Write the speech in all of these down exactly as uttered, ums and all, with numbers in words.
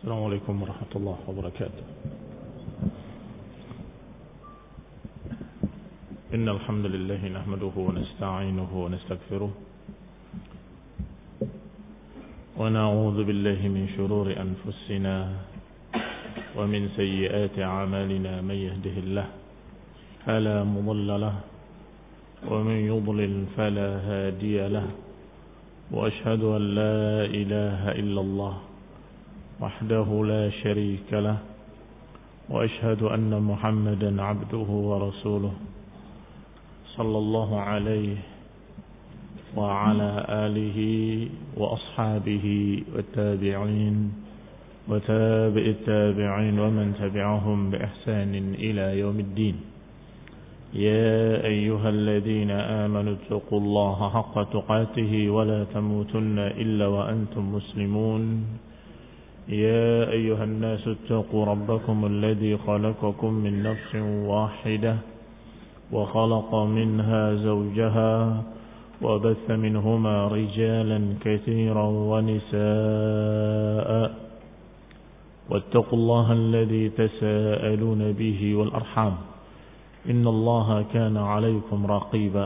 السلام عليكم ورحمة الله وبركاته. إن الحمد لله نحمده ونستعينه ونستغفره ونعوذ بالله من شرور أنفسنا ومن سيئات أعمالنا. من يهده الله فلا مضل له ومن يضلل فلا هادي له، وأشهد أن لا إله إلا الله وحده لا شريك له، وأشهد أن محمدا عبده ورسوله صلى الله عليه وعلى آله وأصحابه والتابعين وتابع التابعين ومن تبعهم بإحسان إلى يوم الدين. يا أيها الذين آمنوا اتقوا الله حق تقاته ولا تموتن إلا وأنتم مسلمون. يا أيها الناس اتقوا ربكم الذي خلقكم من نفس واحدة وخلق منها زوجها وبث منهما رجالا كثيرا ونساء، واتقوا الله الذي تساءلون به والأرحام إن الله كان عليكم رقيبا.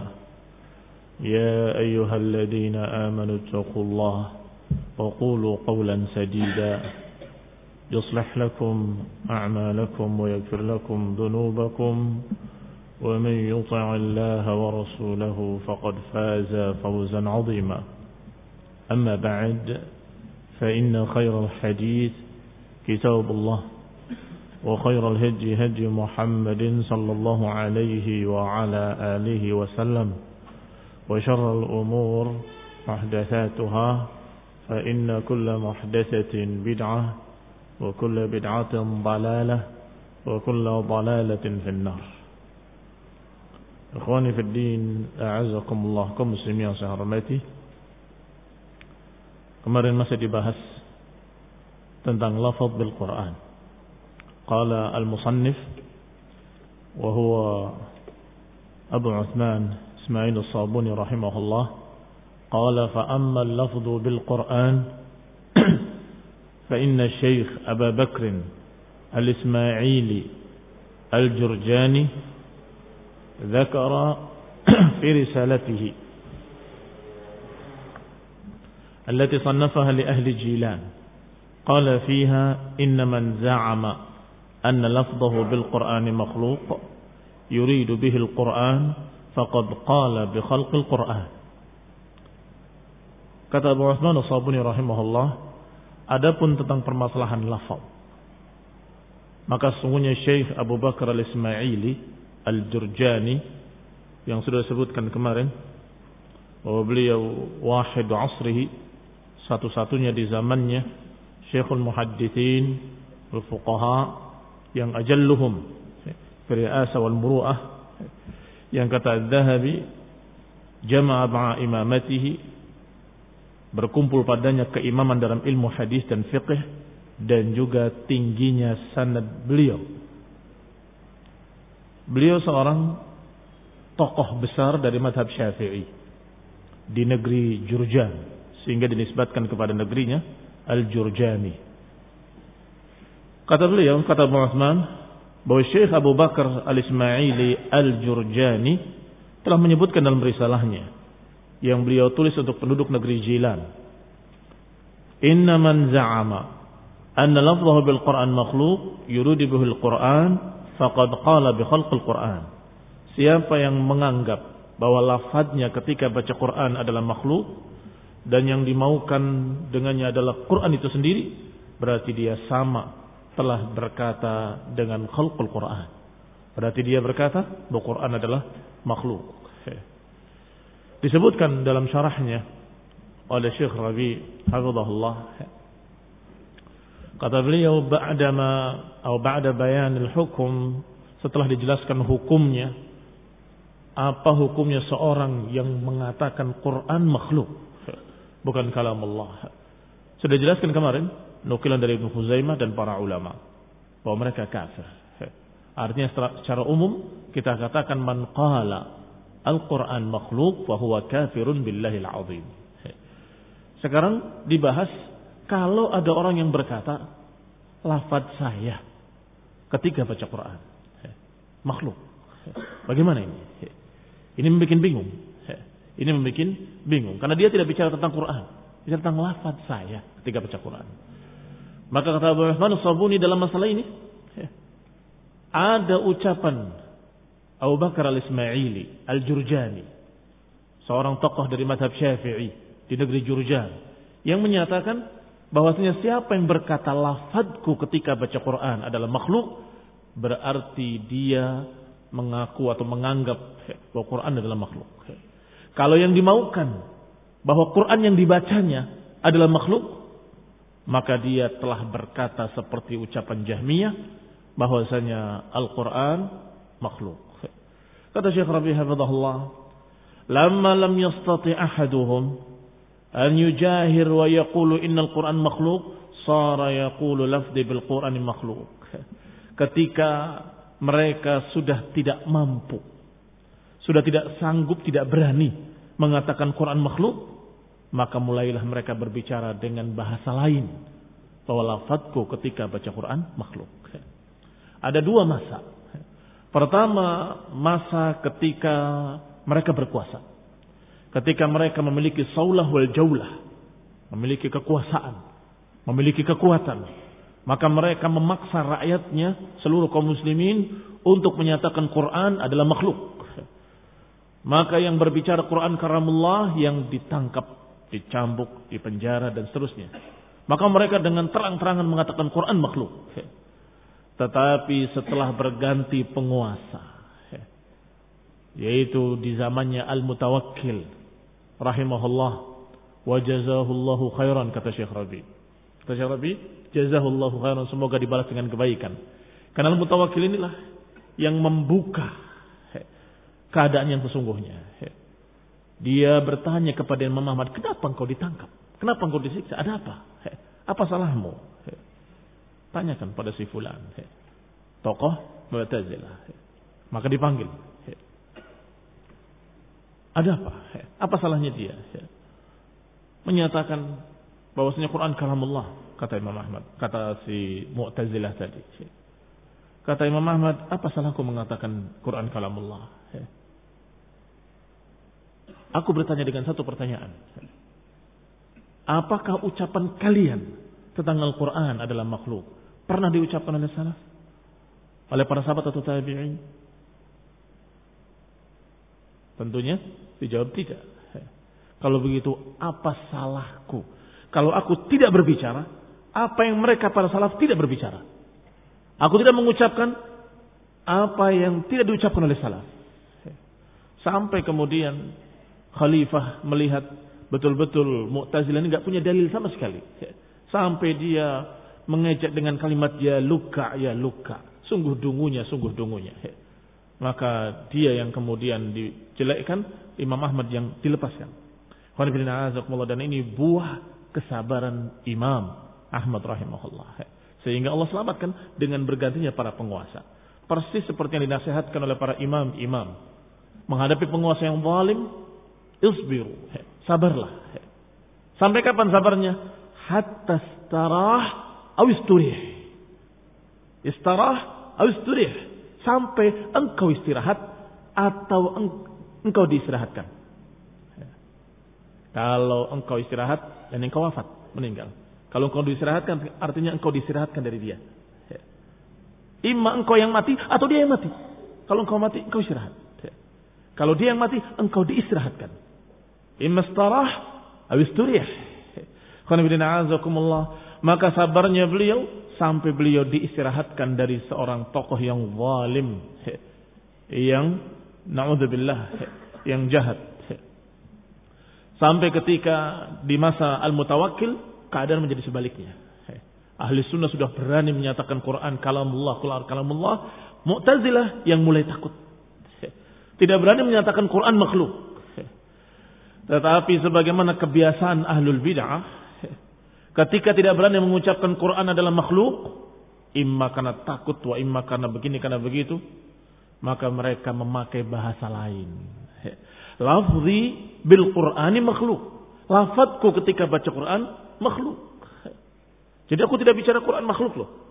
يا أيها الذين آمنوا اتقوا الله وقولوا قولا سديدا يصلح لكم أعمالكم ويغفر لكم ذنوبكم، ومن يطع الله ورسوله فقد فاز فوزا عظيما. أما بعد، فإن خير الحديث كتاب الله، وخير الهدي هدي محمد صلى الله عليه وعلى آله وسلم، وشر الأمور محدثاتها، فإن كل محدثة بدعة وكل بدعة ضلالة وكل ضلالة في النار. Ikhwani fi din, a'azakumullah, kaum muslimin yang saya hormati. Kemarin masih dibahas tentang lafaz bil Quran. Qala al-musannif wa huwa Abu Uthman Ismail as-Sabuni rahimahullah, qala fa amma al-lafzu bil Quran fa inna Syekh Abu Bakr al-Ismaili al-Jurjani ذكر في رسالته التي صنفها لأهل جيلان قال فيها إن من زعم أن لفظه بالقرآن مخلوق يريد به القرآن فقد قال بخلق القرآن. Kata Abu Uthman as-Sabuni rahimahullah, adapun tentang permasalahan lafaz, maka sungguhnya Syekh Abu Bakar al-Ismaili Al-Jurjani yang sudah disebutkan kemarin bahwa beliau wahid asrihi, satu-satunya di zamannya, Syekhul Muhaddithin al-Fuqaha yang ajalluhum fi ri'asa wal muru'ah, yang kata Adz-Dzahabi jama'a ma'a imamatihi, berkumpul padanya keimaman dalam ilmu hadis dan fiqh, dan juga tingginya sanad beliau. Beliau seorang tokoh besar dari mazhab Syafi'i di negeri Jurjan, sehingga dinisbatkan kepada negerinya Al-Jurjani. Kata beliau, kata Abu Uthman, bahwa Syekh Abu Bakar al-Ismaili Al-Jurjani telah menyebutkan dalam risalahnya yang beliau tulis untuk penduduk negeri Jilan, inna man za'ama anna lafzahu bil Qur'an makhluq yuridu bihi al-Qur'an faqad qala bi khalqil Qur'an. Siapa yang menganggap bahwa lafadznya ketika baca Quran adalah makhluk dan yang dimaukan dengannya adalah Quran itu sendiri, berarti dia sama telah berkata dengan khalqul Quran. Berarti dia berkata bahwa Quran adalah makhluk. Disebutkan dalam syarahnya oleh Syekh Rabi hafizahullah, kata beliau, ba'dama atau ba'da bayanil hukum, setelah dijelaskan hukumnya, apa hukumnya seorang yang mengatakan Quran makhluk, bukan kalam Allah. Sudah dijelaskan kemarin, nukilan dari Ibnu Khuzaimah dan para ulama, bahwa mereka kafir. Artinya secara umum kita katakan man qala al-Quran makhluk fa huwa kafirun billahil azim. Sekarang dibahas kalau ada orang yang berkata lafaz saya ketika baca Quran. Makhluk. Bagaimana ini? Ini membuat bingung. Ini membuat bingung. Karena dia tidak bicara tentang Quran. Bicara tentang lafaz saya ketika baca Quran. Maka kata Abu Rahman As-Sabuni dalam masalah ini, ada ucapan Abu Bakar Al-Ismaili Al-Jurjani, seorang tokoh dari mazhab Syafi'i di negeri Jurjan, yang menyatakan bahwasanya siapa yang berkata lafadzku ketika baca Quran adalah makhluk, berarti dia mengaku atau menganggap bahwa Quran adalah makhluk. Kalau yang dimaukan bahwa Quran yang dibacanya adalah makhluk, maka dia telah berkata seperti ucapan Jahmiyah bahwasanya Al-Quran makhluk. Kata Syekh Rabi hafizahullah, "Lamma lam yastati ahaduhum an yujahir wa yaqulu innal Quran makhluk, sara yaqulu lafzi bil Qur'ani makhluk." Ketika mereka sudah tidak mampu, sudah tidak sanggup, tidak berani mengatakan Quran makhluk, maka mulailah mereka berbicara dengan bahasa lain bahwa lafadzku ketika baca Quran makhluk. Ada dua masa. Pertama, masa ketika mereka berkuasa. Ketika mereka memiliki saulah wal jaulah, memiliki kekuasaan, memiliki kekuatan, maka mereka memaksa rakyatnya, seluruh kaum muslimin, untuk menyatakan Quran adalah makhluk. Maka yang berbicara Quran karamullah yang ditangkap, dicambuk, dipenjara dan seterusnya. Maka mereka dengan terang-terangan mengatakan Quran makhluk. Tetapi setelah berganti penguasa, yaitu di zamannya Al-Mutawakkil rahimahullah wa jazahullahu khairan, kata Syekh Rabi. Kata Syekh Rabi, jazahullahu khairan, semoga dibalas dengan kebaikan. Karena Al-Mutawakkil inilah yang membuka keadaan yang sesungguhnya. Dia bertanya kepada Imam Ahmad, kenapa engkau ditangkap? Kenapa engkau disiksa? Ada apa? Apa salahmu? Tanyakan pada si fulan, tokoh Mu'tazilah. Maka dipanggil. Ada apa? Apa salahnya dia? Menyatakan bahwasanya Quran kalamullah, kata Imam Ahmad, kata si Mu'tazilah tadi. Kata Imam Ahmad, apa salahku mengatakan Quran kalamullah? Aku bertanya dengan satu pertanyaan. Apakah ucapan kalian tentang Al-Quran adalah makhluk pernah diucapkan oleh salaf? Oleh para sahabat atau tabi'in? Tentunya dijawab tidak. Kalau begitu, apa salahku kalau aku tidak berbicara apa yang mereka para salaf tidak berbicara? Aku tidak mengucapkan apa yang tidak diucapkan oleh salaf. Sampai kemudian Khalifah melihat betul-betul Mu'tazilah ini enggak punya dalil sama sekali. Sampai dia mengejek dengan kalimat ya luka, ya luka. Sungguh dungunya, sungguh dungunya. Maka dia yang kemudian dijelekkan, Imam Ahmad yang dilepaskan. Dan ini buah kesabaran Imam Ahmad rahimahullah. Sehingga Allah selamatkan dengan bergantinya para penguasa. Persis seperti yang dinasihatkan oleh para imam-imam. Menghadapi penguasa yang zalim, isbiru, sabarlah. Sampai kapan sabarnya? Hatta istarah aw isturih. Istarah aw isturih. Sampai engkau istirahat atau engkau diistirahatkan. Kalau engkau istirahat dan engkau wafat, meninggal. Kalau engkau diistirahatkan, artinya engkau diistirahatkan dari dia. Imma engkau yang mati atau dia yang mati. Kalau engkau mati, engkau istirahat. Kalau dia yang mati, engkau diistirahatkan. Imma istarah aw isturih. Maka sabarnya beliau sampai beliau diistirahatkan dari seorang tokoh yang zalim, yang naudzubillah, yang jahat. Sampai ketika di masa Al-Mutawakkil keadaan menjadi sebaliknya. Ahli sunnah sudah berani menyatakan Quran kalamullah, Quran kalamullah. Mu'tazilah yang mulai takut. Tidak berani menyatakan Quran makhluk. Tetapi sebagaimana kebiasaan ahlul bid'ah, ketika tidak berani mengucapkan Quran adalah makhluk, imma karena takut, wa imma karena begini, karena begitu, maka mereka memakai bahasa lain. Lafzi bil Qur'ani makhluk. Lafadzku ketika baca Quran makhluk. Jadi aku tidak bicara Quran makhluk loh.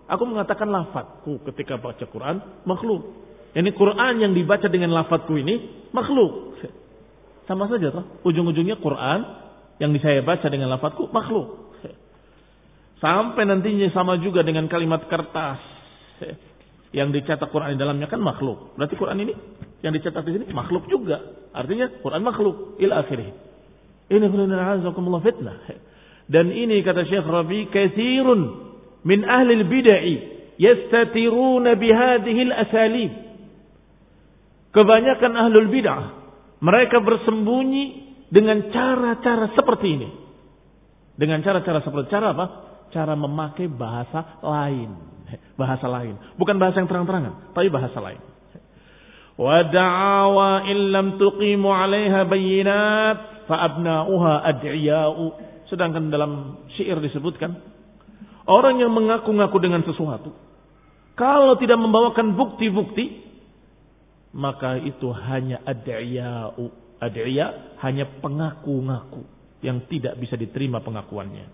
Aku mengatakan lafadzku ketika baca Quran makhluk. Ini Quran yang dibaca dengan lafadzku ini makhluk. Sama saja toh. Ujung-ujungnya Quran yang saya baca dengan lafadzku makhluk. Sampai nantinya sama juga dengan kalimat kertas yang dicetak Quran di dalamnya kan makhluk. Berarti Quran ini yang dicetak di sini makhluk juga. Artinya Quran makhluk ila akhirih. Ini khuluna'azakumullah fitnah. Dan ini kata Syekh Rabi, katsirun min ahli al-bid'ah yastatiruna bihadhihi al-asalib. Kebanyakan ahlul bid'ah mereka bersembunyi dengan cara-cara seperti ini. Dengan cara-cara seperti cara apa? Cara memakai bahasa lain. Bahasa lain. Bukan bahasa yang terang-terangan, tapi bahasa lain. Wa da'awa illam tuqimu 'alaiha bayyinat fa abna'uha ad'iya'u. Sedangkan dalam syair disebutkan orang yang mengaku-ngaku dengan sesuatu kalau tidak membawakan bukti-bukti maka itu hanya ad'iya'u. Ad'iya hanya pengaku-ngaku yang tidak bisa diterima pengakuannya.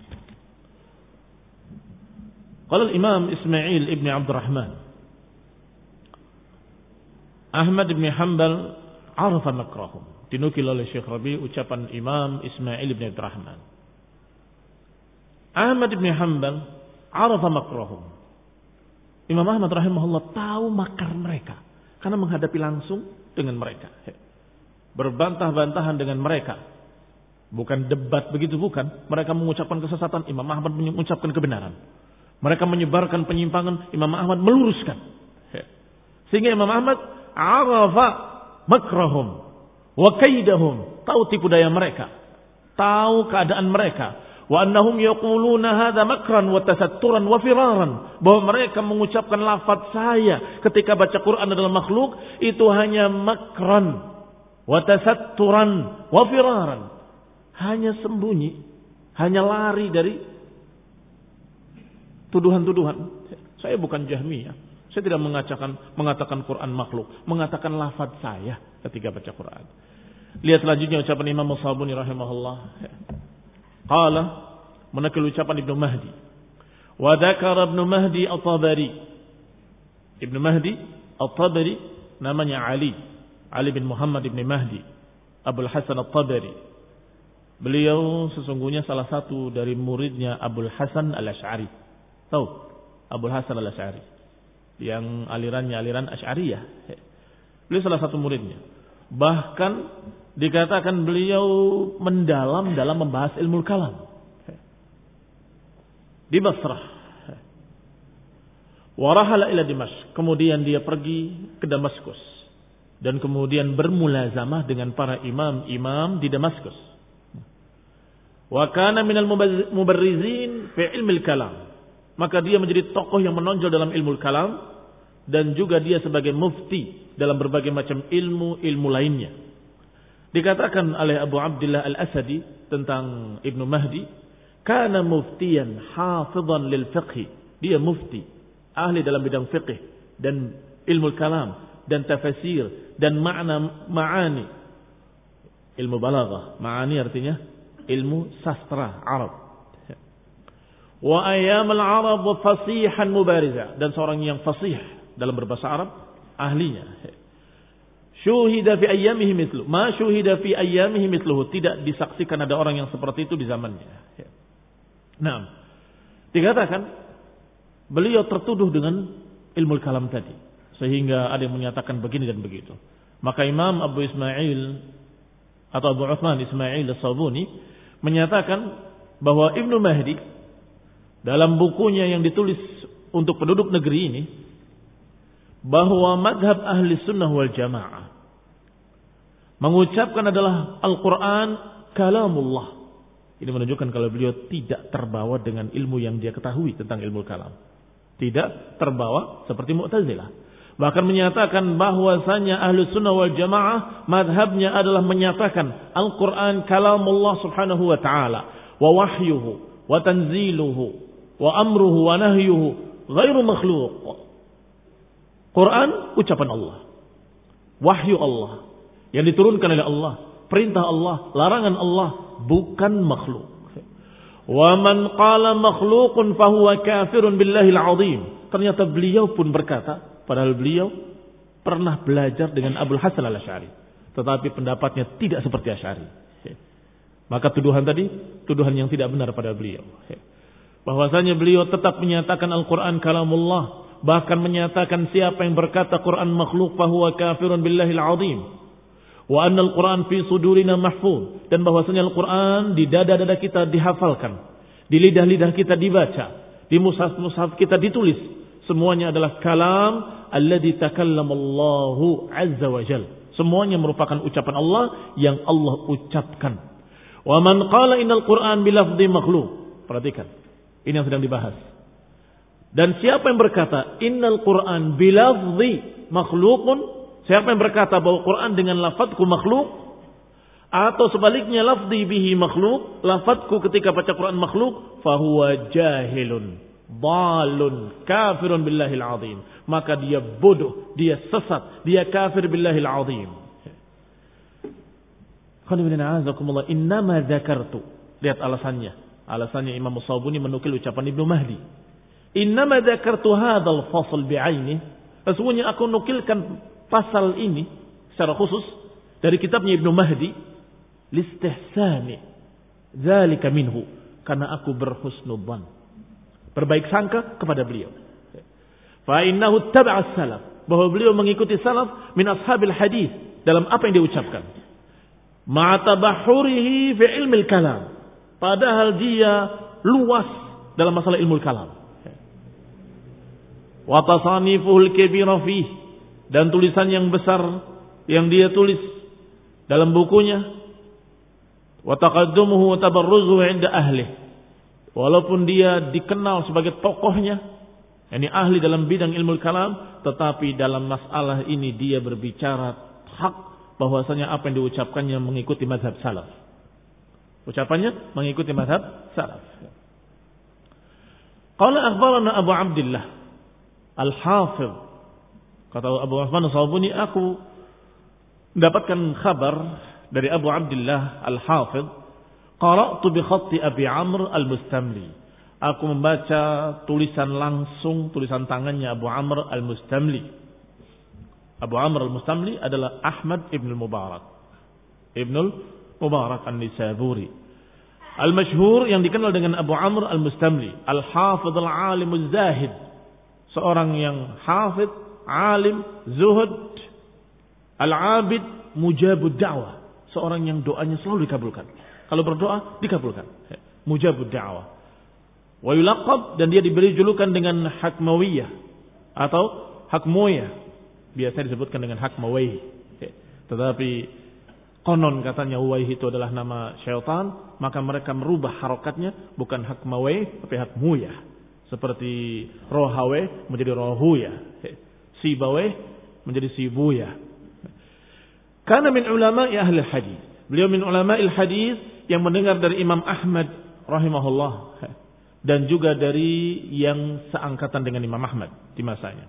Qala Imam Ismail ibn Abdurrahman Ahmad ibn Hanbal arafa makrahum. Dinukil oleh Syekh Rabi ucapan Imam Ismail ibn Abdurrahman. Ahmad ibn Hanbal arafa makrahum. Imam Ahmad rahimahullah tahu makar mereka karena menghadapi langsung dengan mereka. Berbantah-bantahan dengan mereka. Bukan debat begitu, bukan. Mereka mengucapkan kesesatan, Imam Ahmad mengucapkan kebenaran. Mereka menyebarkan penyimpangan, Imam Ahmad meluruskan. Sehingga Imam Ahmad arafa makrahum wa kaidahum, tahu tipu daya mereka, tahu keadaan mereka. Wa annahum yaquluna hadza makran wa tasatturan wa firaran, bahwa mereka mengucapkan lafaz saya ketika baca Quran adalah makhluk itu hanya makran wa tasatturan wa firaran, hanya sembunyi, hanya lari dari tuduhan-tuduhan. Saya bukan Jahmiyah, saya tidak mengatakan mengatakan Quran makhluk, mengatakan lafaz saya ketika baca Quran. Lihat selanjutnya ucapan Imam As-Sabuni rahimahullah. Qala, menakil ucapan Ibnu Mahdi. Wa dzakara Ibnu Mahdi At-Tabari. Ibnu Mahdi At-Tabari namanya Ali. Ali bin Muhammad ibn Mahdi Abul Hasan At-Tabari. Beliau sesungguhnya salah satu dari muridnya Abul Hasan Al-Asy'ari. Tahu Abul Hasan Al-Asy'ari yang alirannya aliran Asy'ariyah. Beliau salah satu muridnya. Bahkan dikatakan beliau mendalam dalam membahas ilmu kalam di Basrah. Warahala ila Dimashq, kemudian dia pergi ke Damaskus dan kemudian bermulazamah dengan para imam-imam di Damaskus. Wa kana minal mubarrizin fi ilmi kalam, maka dia menjadi tokoh yang menonjol dalam ilmu kalam dan juga dia sebagai mufti dalam berbagai macam ilmu-ilmu lainnya. Dikatakan oleh Abu Abdullah Al-Asadi tentang Ibnu Mahdi, kana muftiyan hafidhan lil fiqh. Dia mufti, ahli dalam bidang fiqh dan ilmu kalam dan tafsir dan makna ma'ani. Ilmu balaghah, ma'ani artinya ilmu sastra Arab. Wa ayyam al-Arab wa fasihan mubariza, dan seorang yang fasih dalam berbahasa Arab, ahlinya. Syuhida fi ayyamihi mithlu ma syuhida fi ayyamihi mithluhu, tidak disaksikan ada orang yang seperti itu di zamannya. Nah, dikatakan beliau tertuduh dengan ilmu kalam tadi sehingga ada yang menyatakan begini dan begitu. Maka Imam Abu Ismail atau Abu Uthman Ismail As-Sabuni menyatakan bahwa Ibnu Mahdi dalam bukunya yang ditulis untuk penduduk negeri ini, bahwa madhab ahli sunnah wal jamaah mengucapkan adalah Al-Quran kalamullah. Ini menunjukkan kalau beliau tidak terbawa dengan ilmu yang dia ketahui tentang ilmu kalam. Tidak terbawa seperti Mu'tazilah. Bahkan menyatakan bahwasanya ahli sunnah wal jamaah madhabnya adalah menyatakan Al-Quran kalamullah subhanahu wa ta'ala, wa wahyuhu wa tanziluhu wa amruhu wa nahyuhu ghairu makhluk. Quran ucapan Allah, wahyu Allah yang diturunkan oleh Allah, perintah Allah, larangan Allah, bukan makhluk. Wa man qala makhluqun fahuwa kafirun billahil azim. Ternyata beliau pun berkata, padahal beliau pernah belajar dengan Abul Hasan Al-Asy'ari, tetapi pendapatnya tidak seperti Asy'ari. Maka tuduhan tadi, tuduhan yang tidak benar pada beliau. Bahwasanya beliau tetap menyatakan Al-Quran kalamullah, bahkan menyatakan siapa yang berkata Quran makhluk fahuwa kafirun billahil azim. Wa anna al-Quran fi sudurina mahfuz, dan bahwasanya Al-Quran di dada-dada kita dihafalkan, di lidah-lidah kita dibaca, di mushaf-mushaf kita ditulis. Semuanya adalah kalam alladzi takallamallahu azza wa jal. Semuanya merupakan ucapan Allah yang Allah ucapkan. Wa man qala innal Qur'an bilafdhi makhluk. Perhatikan, ini yang sedang dibahas. Dan siapa yang berkata innal Qur'an bilafdhi makhlukun, siapa yang berkata bahwa Quran dengan lafadzku makhluk, atau sebaliknya lafzi bihi makhluk, lafadzku ketika baca Quran makhluk, fahuwa jahilun, dalun, kafirun billahil azim. Maka dia bodoh, dia sesat, dia kafir billahil azim. Innama dzakartu. Lihat alasannya. Alasannya Imam As-Sabuni menukil ucapan Ibnu Mahdi. Innama dzakartu hadzal fasl bi'aini. Sesungguhnya aku nukilkan pasal ini secara khusus dari kitabnya Ibnu Mahdi, listihsani dzalika minhu, karena aku berhusnudzan, berbaik sangka kepada beliau. Fa innahu tabi'a salaf, bahwa beliau mengikuti salaf min ashabil hadis dalam apa yang diucapkan. Ma'a tabahhurihi fi ilmil kalam, padahal dia luas dalam masalah ilmu kalam. Wa tasanifuhul kabira fihi, dan tulisan yang besar yang dia tulis dalam bukunya. Wa taqaddumuhu wa tabarruzuhu 'inda ahli, walaupun dia dikenal sebagai tokohnya, yakni ahli dalam bidang ilmu kalam, tetapi dalam masalah ini dia berbicara hak, bahwasanya apa yang diucapkannya mengikuti mazhab salaf. Ucapannya mengikuti mazhab salaf. Qala akhbarana Abu Abdullah Al-Hafidh, kata Abu Uthman As-Sabuni, aku mendapatkan kabar dari Abu Abdullah Al-Hafidh, qara'tu bi khatti Abi Amr Al-Mustamli. Aku membaca tulisan langsung, tulisan tangannya Abu Amr Al-Mustamli. Abu Amr Al-Mustamli adalah Ahmad Ibn Mubarak, Ibn Mubarak An-Nisaburi, Al-Mashhur, yang dikenal dengan Abu Amr Al-Mustamli, Al-Hafidh Al-Alim Al-Zahid, seorang yang hafidh, alim, zuhud, al-abid, mujabud da'wah, seorang yang doanya selalu dikabulkan. Kalau berdoa dikabulkan. Mujabud da'wah. Wa yulaqab, dan dia diberi julukan dengan Hakmawiyah atau Hakmoyah. Biasanya disebutkan dengan Hakmawayh. Tetapi konon katanya Uwayh itu adalah nama syaitan, maka mereka merubah harokatnya, bukan Hakmawayh tapi Hakmoyah. Seperti Rohawe menjadi Rohuyah, Sibaweh menjadi Sibuya. Karena min ulama'i ahli hadis, beliau min ulama'il hadis yang mendengar dari Imam Ahmad rahimahullah, dan juga dari yang seangkatan dengan Imam Ahmad di masanya.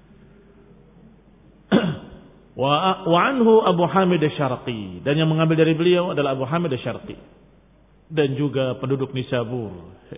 Wa wa anhu Abu Hamid Asy-Syarqi, dan yang mengambil dari beliau adalah Abu Hamid Asy-Syarqi, dan juga penduduk Nisabur.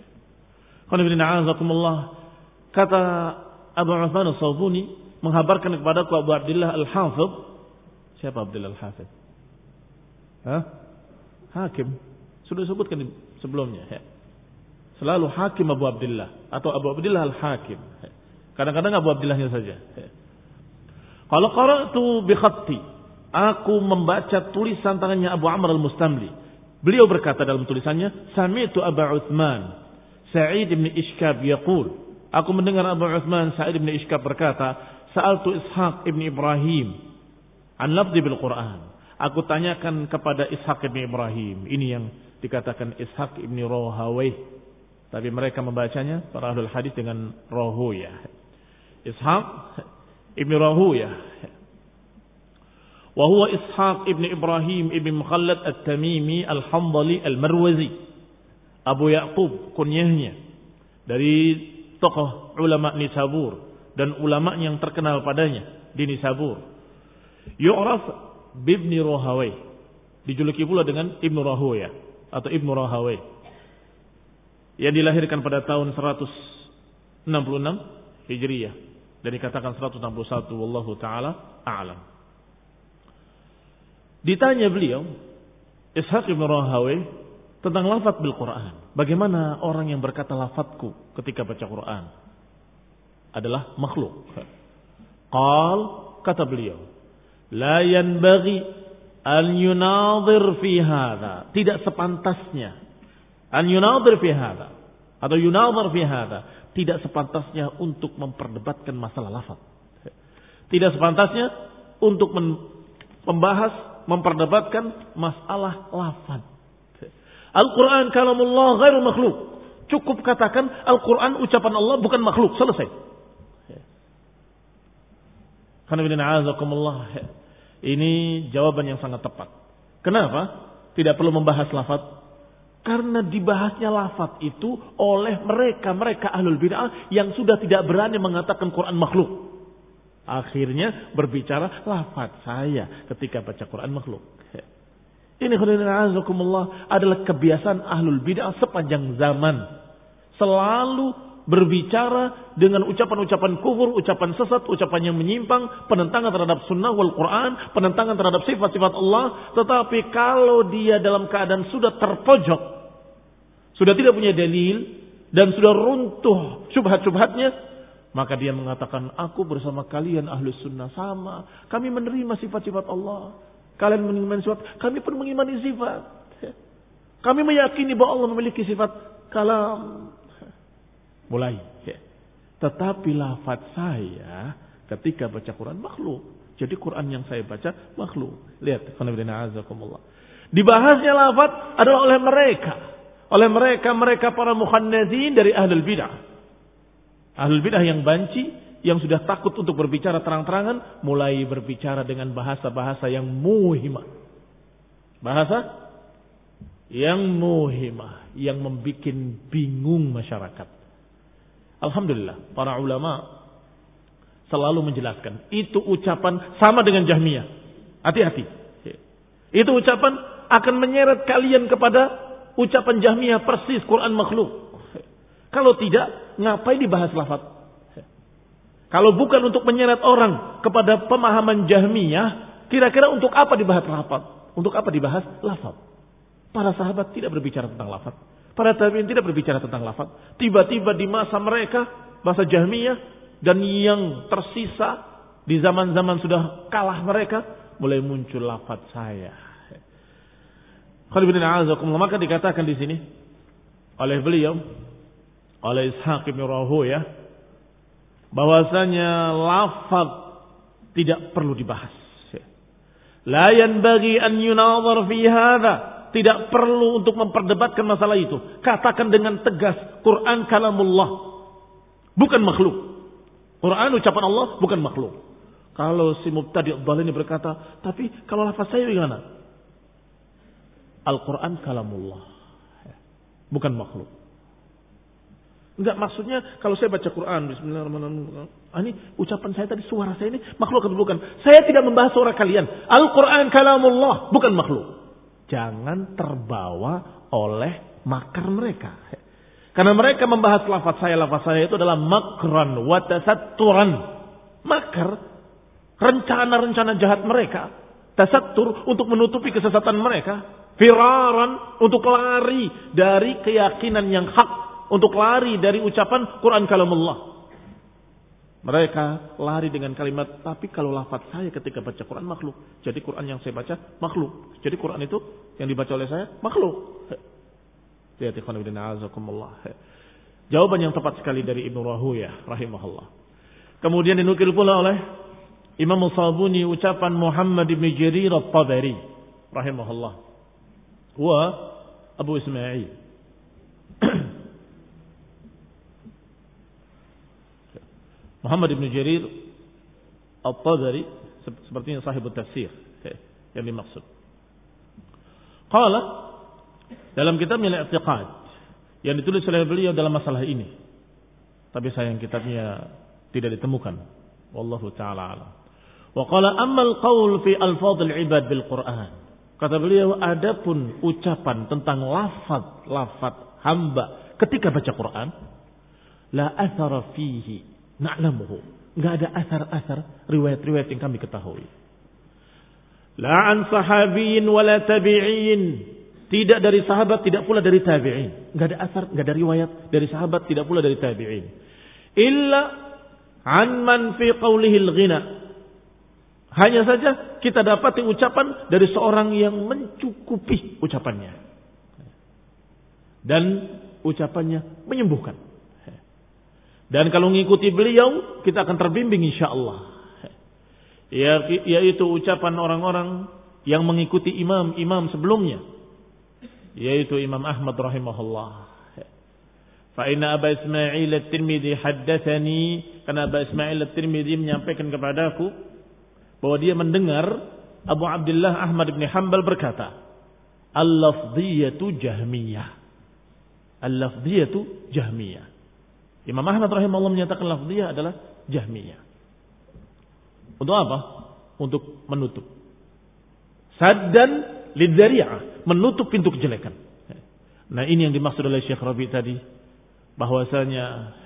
Kata Abu Uthman As-Sabuni menghabarkan kepadaku Abu Abdullah Al-Hafidh. Siapa Abdullah Al-Hafidh? Hah? Hakim. Sudah disebutkan sebelumnya. Selalu Hakim Abu Abdullah atau Abu Abdullah Al-Hakim. Kadang-kadang Abu Abdullahnya saja. Kalau qara'tu bi khatti, aku membaca tulisan tangannya Abu Amr Al-Mustamli. Beliau berkata dalam tulisannya, sami'tu Abu Uthman Sa'id bin Ishkab yaqul, aku mendengar Abu Uthman Sa'id bin Ishkab berkata, sa'altu Ishaq ibn Ibrahim an lafzi bil Quran. Aku tanyakan kepada Ishaq ibn Ibrahim. Ini yang dikatakan Ishaq ibn Rohawayh, tapi mereka membacanya para ahlul hadis dengan Rohuyah. Ishaq ibn Rohuyah. Wa huwa Ishaq ibn Ibrahim ibn Mukhallad At-Tamimi Al-Hamdali Al-Marwazi, Abu Ya'qub kunyahnya, dari tokoh ulama Nisabur dan ulama yang terkenal padanya di Nisabur. Yu'raf bibni Rohawayh, dijuluki pula dengan Ibnu Rohawayh atau Ibnu Rohawayh. yang dilahirkan pada tahun seratus enam puluh enam Hijriyah dan dikatakan seratus enam puluh satu, wallahu taala a'lam. Ditanya beliau Ishaq bin Rahawayh tentang lafaz bil Quran. Bagaimana orang yang berkata lafazku ketika baca Quran adalah makhluk? Qal, kata beliau, la yanbaghi an yunadhir fi hadha. Tidak sepantasnya an yunadhir fi hadha atau yunadhir fi hadha. Tidak sepantasnya untuk memperdebatkan masalah lafaz. Tidak sepantasnya untuk membahas, memperdebatkan masalah lafaz. Al-Quran kalamullah ghairu makhluk. Cukup katakan Al-Quran ucapan Allah, bukan makhluk. Selesai. Ini jawaban yang sangat tepat. Kenapa? Tidak perlu membahas lafaz. Karena dibahasnya lafaz itu oleh mereka-mereka ahlul bid'ah yang sudah tidak berani mengatakan Quran makhluk. Akhirnya berbicara lafaz saya ketika baca Quran makhluk. Ini adalah kebiasaan ahlul bid'ah sepanjang zaman. Selalu berbicara dengan ucapan-ucapan kufur, ucapan sesat, ucapan yang menyimpang, penentangan terhadap sunnah wal Quran, penentangan terhadap sifat-sifat Allah. Tetapi kalau dia dalam keadaan sudah terpojok, sudah tidak punya dalil, dan sudah runtuh syubhat-syubhatnya, maka dia mengatakan, aku bersama kalian ahlus sunnah sama. Kami menerima sifat-sifat Allah. Kalian mengimani sifat, kami pun mengimani sifat. Kami meyakini bahwa Allah memiliki sifat kalam. Mulai. Tetapi lafaz saya ketika baca Quran makhluk. Jadi Quran yang saya baca makhluk. Lihat. Dibahasnya lafaz adalah oleh mereka. Oleh mereka-mereka para mukhannathin dari ahlul bid'ah. Ahlul bid'ah yang banci, yang sudah takut untuk berbicara terang-terangan, mulai berbicara dengan bahasa-bahasa yang muhimah. Bahasa yang muhimah, yang membuat bingung masyarakat. Alhamdulillah, para ulama selalu menjelaskan, itu ucapan sama dengan Jahmiyah. Hati-hati. Itu ucapan akan menyeret kalian kepada ucapan Jahmiyah persis Quran makhluk. Kalau tidak, ngapain dibahas lafaz? Kalau bukan untuk menyeret orang kepada pemahaman Jahmiyah, kira-kira untuk apa dibahas lafaz? Untuk apa dibahas lafaz? Para sahabat tidak berbicara tentang lafaz. Para tabi'in tidak berbicara tentang lafaz. Tiba-tiba di masa mereka, masa Jahmiyah, dan yang tersisa di zaman-zaman sudah kalah mereka, mulai muncul lafaz saya. Maka dikatakan di sini oleh beliau, oleh Ishaq bin Rahawayh, bahwasanya lafaz tidak perlu dibahas. La yanbaghi an yunadhar fi hadha. Tidak perlu untuk memperdebatkan masalah itu. Katakan dengan tegas, Quran kalamullah, bukan makhluk. Quran ucapan Allah, bukan makhluk. Kalau si mubtadi' dhalin ini berkata, tapi kalau lafaz saya bagaimana? Al-Quran kalamullah, bukan makhluk. Enggak, maksudnya kalau saya baca Quran, bismillahirrahmanirrahim, ah, ini ucapan saya tadi, suara saya ini makhluk atau bukan? Saya tidak membahas suara kalian. Al-Quran kalamullah, bukan makhluk. Jangan terbawa oleh makar mereka. Karena mereka membahas lafaz saya, lafaz saya itu adalah makran wa tasatturan. Makar, rencana-rencana jahat mereka. Tasattur untuk menutupi kesesatan mereka. Firaran untuk lari dari keyakinan yang hak. Untuk lari dari ucapan Quran kalamullah. Mereka lari dengan kalimat, tapi kalau lafaz saya ketika baca Quran makhluk. Jadi Quran yang saya baca makhluk. Jadi Quran itu yang dibaca oleh saya makhluk. Lihat ikhwan fillah azakumullah. Jawaban yang tepat sekali dari Ibnu Rahawayh rahimahullah. Kemudian dinukil pula oleh Imam Sabuni ucapan Muhammad bin Jarir At-Tabari rahimahullah. Wa Abu Ismail. Muhammad bin Jarir At-Tabari sepertinya sahibut tafsir yang dimaksud. Qala dalam kitabnya Al-I'tiqad yang ditulis oleh beliau dalam masalah ini. Tapi sayang kitabnya tidak ditemukan. Wallahu taala alam. Wa qala ammal qaul fi alfadhil ibad bil Quran. Kata beliau, adapun ucapan tentang lafaz-lafaz hamba ketika baca Quran, la athara fihi na'lamuhu. Enggak ada asar-asar riwayat-riwayat yang kami ketahui. La an sahabiyin wala tabi'in. Tidak dari sahabat, tidak pula dari tabi'in. Enggak ada asar, enggak ada riwayat dari sahabat, tidak pula dari tabi'in. Illa an man fi qawlihi al-ghina. Hanya saja kita dapati ucapan dari seorang yang mencukupi ucapannya. Dan ucapannya menyembuhkan. Dan kalau mengikuti beliau, kita akan terbimbing insyaallah. Ya, yaitu ucapan orang-orang yang mengikuti imam-imam sebelumnya. Yaitu Imam Ahmad rahimahullah. Fa inna Aba Ismail at-Tirmidzi haddatsani, karena Aba Ismail at-Tirmidzi menyampaikan kepadaku bahwa dia mendengar Abu Abdullah Ahmad bin Hanbal berkata, al-lafdhiyatu jahmiyah. Al-lafdhiyatu jahmiyah. Imam Ahmad rahimahullah menyatakan lafdhiyah adalah jahmiyah. Untuk apa? Untuk menutup. Saddan lidzari'ah, menutup pintu kejelekan. Nah, ini yang dimaksud oleh Syekh Rabi tadi, bahwasanya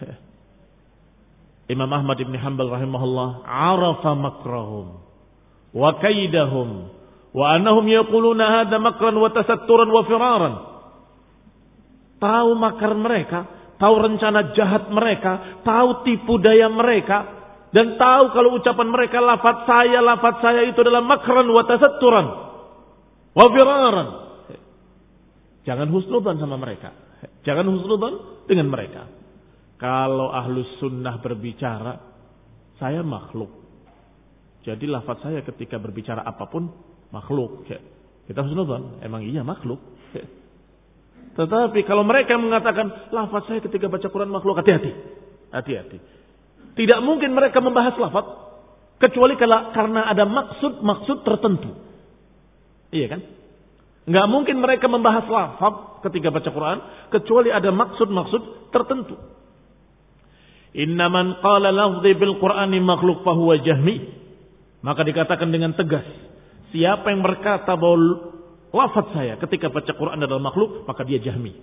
Imam Ahmad bin Hanbal rahimahullah arafa makrahum wa kaidahum wa annahum yaquluna hadha makran wa tasatturan wa firaran. Tahu makar mereka, tahu rencana jahat mereka, tahu tipu daya mereka, dan tahu kalau ucapan mereka lafaz saya, lafaz saya itu adalah makran wa tasatturan wa firaran. Jangan husnudzan sama mereka. Jangan husnudzan dengan mereka. Kalau ahlus sunnah berbicara, saya makhluk. Jadi lafaz saya ketika berbicara apapun makhluk. Kita husnudzan, emang iya makhluk. Tetapi kalau mereka mengatakan lafaz saya ketika baca Quran makhluk, hati-hati. Hati-hati. Tidak mungkin mereka membahas lafaz kecuali kalau karena ada maksud-maksud tertentu. Iya kan? Enggak mungkin mereka membahas lafaz ketika baca Quran kecuali ada maksud-maksud tertentu. Inna man qala lafzi bil Qur'ani makhluk fahuwa jahmi. Maka dikatakan dengan tegas, siapa yang berkata bahwa lafaz saya ketika baca Quran adalah makhluk, maka dia jahmi.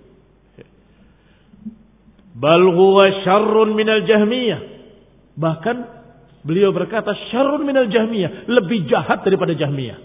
Bal huwa syarrun minal jahmiyah. Bahkan beliau berkata syarrun minal jahmiyah, lebih jahat daripada jahmiyah.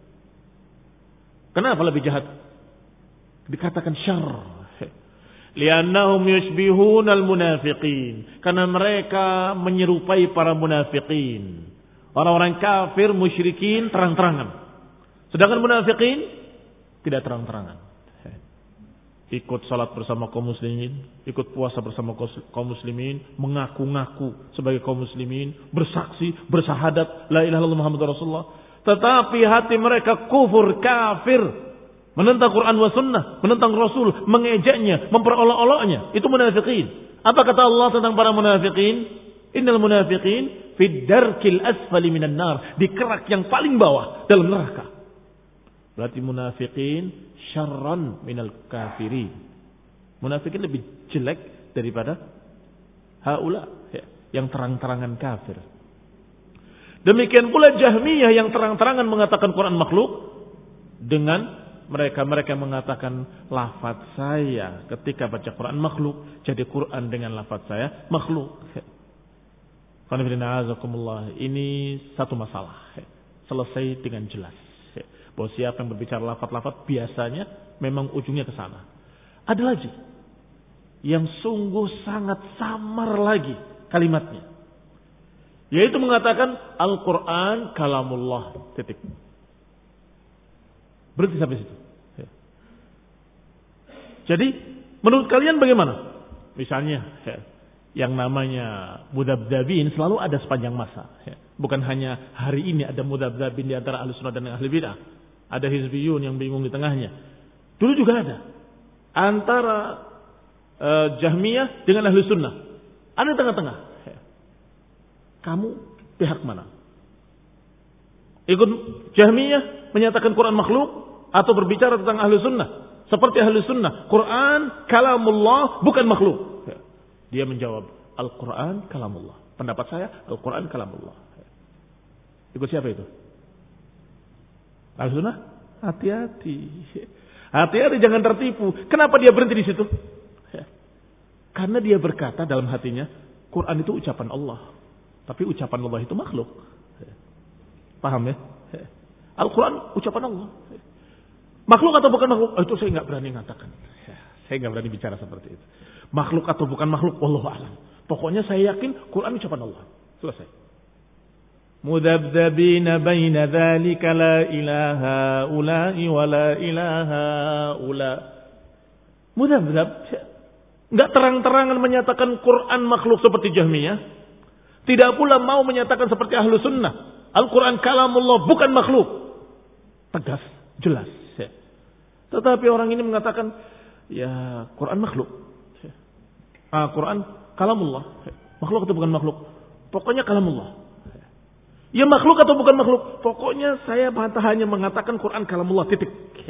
Kenapa lebih jahat? Dikatakan syarr. Liannahum yushbihunal munafiqin. Karena mereka menyerupai para munafiqin. Orang-orang kafir, musyrikin terang-terangan. Sedangkan munafiqin tidak terang-terangan. Ikut salat bersama kaum muslimin, ikut puasa bersama kaum muslimin, mengaku-ngaku sebagai kaum muslimin, bersaksi, bersahadat la ilaha illallah Muhammadur Rasulullah. Tetapi hati mereka kufur, kafir, menentang Quran wa sunnah, menentang Rasul, mengejeknya, memperolok-oloknya. Itu munafiqin. Apa kata Allah tentang para munafiqin? Innal munafiqin fid darkil asfali minan nar, di kerak yang paling bawah dalam neraka. Berarti munafiqin syarran minal kafirin. Munafiqin lebih jelek daripada haula yang terang-terangan kafir. Demikian pula Jahmiyah yang terang-terangan mengatakan Quran makhluk, dengan mereka-mereka mengatakan lafaz saya ketika baca Quran makhluk, jadi Quran dengan lafaz saya makhluk. Ini satu masalah, selesai dengan jelas. Bahwa siapa yang berbicara lafaz-lafaz biasanya memang ujungnya ke sana. Ada lagi yang sungguh sangat samar lagi kalimatnya, yaitu mengatakan Al-Quran kalamullah, titik. Berhenti sampai situ. Jadi menurut kalian bagaimana? Misalnya yang namanya mudabdabin selalu ada sepanjang masa. Bukan hanya hari ini ada mudabdabin di antara ahli sunnah dan ahli bidah. Ada hizbiyun yang bingung di tengahnya. Dulu juga ada antara uh, Jahmiyah dengan ahli sunnah. Ada di tengah-tengah. Kamu pihak mana? Ikut Jahmiyah menyatakan Quran makhluk atau berbicara tentang ahli sunnah? Seperti ahli sunnah, Quran kalamullah bukan makhluk. Dia menjawab, Al-Quran kalamullah. Pendapat saya, Al-Quran kalamullah. Ikut siapa itu? Ahli sunnah? Hati-hati. Hati-hati, jangan tertipu. Kenapa dia berhenti di situ? Karena dia berkata dalam hatinya, Quran itu ucapan Allah. Tapi ucapan Allah itu makhluk. Paham ya? Al-Quran ucapan Allah. Makhluk atau bukan makhluk? Oh, itu saya nggak berani mengatakan. Saya nggak berani bicara seperti itu. Makhluk atau bukan makhluk, wallahu a'lam. Pokoknya saya yakin Quran ucapan Allah. Selesai. Mudabdabina baina dzalika la ilaha ula'i wa la ilaha ula. Mudabdab. Enggak terang-terangan menyatakan Quran makhluk seperti Jahmiyah. Tidak pula mau menyatakan seperti Ahlu Sunnah. Al-Quran kalamullah bukan makhluk. Tegas, jelas. Tetapi orang ini mengatakan, ya Quran makhluk. Ah, Quran kalamullah. Makhluk atau bukan makhluk? Pokoknya kalamullah. Ya makhluk atau bukan makhluk? Pokoknya saya hanya mengatakan Quran kalamullah, titik.